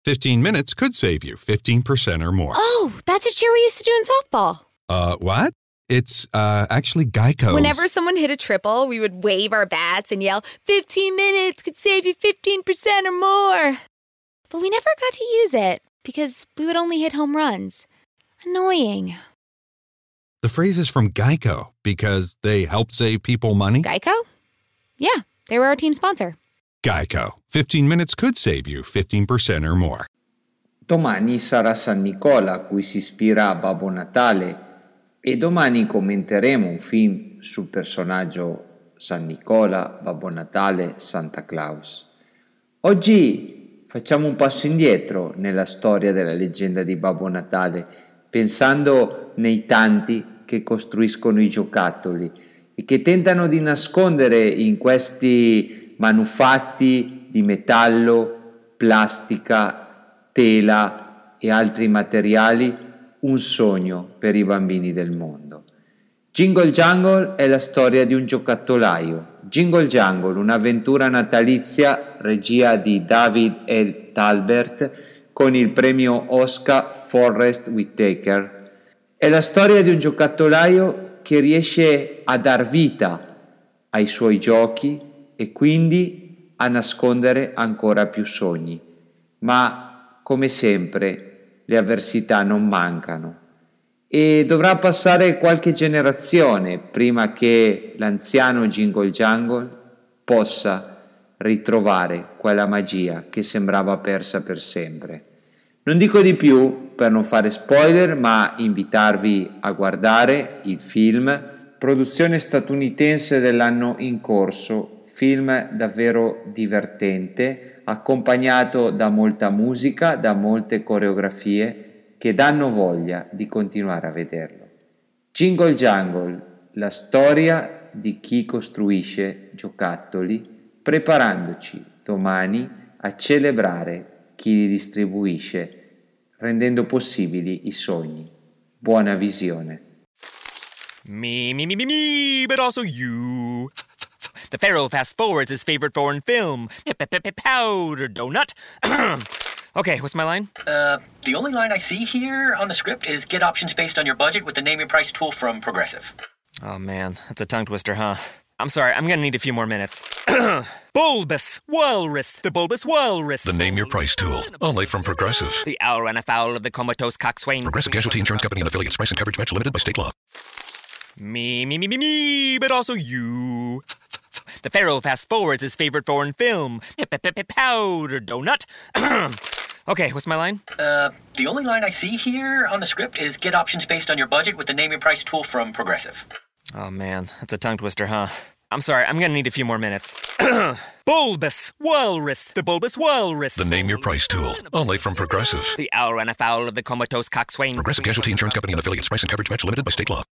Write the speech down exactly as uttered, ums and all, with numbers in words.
fifteen minutes could save you fifteen percent or more. Oh, that's a cheer we used to do in softball. Uh, what? It's, uh, actually Geico's. Whenever someone hit a triple, we would wave our bats and yell, fifteen minutes could save you fifteen percent or more. But we never got to use it because we would only hit home runs. Annoying. The phrase is from Geico because they help save people money. Geico? Yeah, they were our team sponsor. Geico. fifteen minutes could save you fifteen percent or more. Domani sarà San Nicola, a cui si ispira Babbo Natale, e domani commenteremo un film sul personaggio San Nicola, Babbo Natale, Santa Claus. Oggi facciamo un passo indietro nella storia della leggenda di Babbo Natale, pensando nei tanti che costruiscono i giocattoli e che tentano di nascondere in questi manufatti di metallo, plastica, tela e altri materiali un sogno per i bambini del mondo. Jingle Jangle è la storia di un giocattolaio. Jingle Jangle, un'avventura natalizia, regia di David L. Talbert, con il premio Oscar Forrest Whitaker. È la storia di un giocattolaio che riesce a dar vita ai suoi giochi e quindi a nascondere ancora più sogni. Ma, come sempre, le avversità non mancano e dovrà passare qualche generazione prima che l'anziano Jingle Jangle possa ritrovare quella magia che sembrava persa per sempre. Non dico di più per non fare spoiler, ma invitarvi a guardare il film, produzione statunitense dell'anno in corso, film davvero divertente, accompagnato da molta musica, da molte coreografie che danno voglia di continuare a vederlo. Jingle Jangle, la storia di chi costruisce giocattoli, preparandoci domani a celebrare chi li distribuisce, rendendo possibili i sogni. Buona visione. Me, me, me, me, me, but also you. The Pharaoh fast forwards his favorite foreign film, Powder Donut. Okay, what's my line? Uh, the only line I see here on the script is get options based on your budget with the Name Your Price tool from Progressive. Oh man, that's a tongue twister, huh? I'm sorry, I'm gonna need a few more minutes. Bulbous Walrus, the Bulbous Walrus. The Name Your Price tool, only from Progressive. The owl ran afoul of the comatose coxswain. Progressive Casualty Insurance Company and affiliates. Price and coverage match limited by state law. Me, me, me, me, me, but also you. The Pharaoh fast forwards his favorite foreign film, Powder Donut. Okay, what's my line? Uh, the only line I see here on the script is get options based on your budget with the Name Your Price tool from Progressive. Oh man, that's a tongue twister, huh? I'm sorry, I'm gonna need a few more minutes. Bulbous Walrus, the Bulbous Walrus. The Name Your Price tool, only from Progressive. The owl ran afoul of the comatose coxswain. Progressive Casualty Insurance Company and affiliates. Price and coverage match limited by state law.